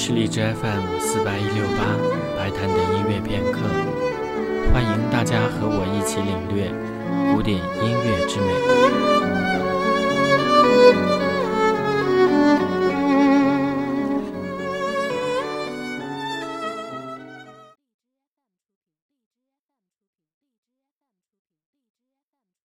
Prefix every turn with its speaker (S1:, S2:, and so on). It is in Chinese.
S1: 是荔枝 FM48168白谈的音乐片刻，欢迎大家和我一起领略古典音乐之美。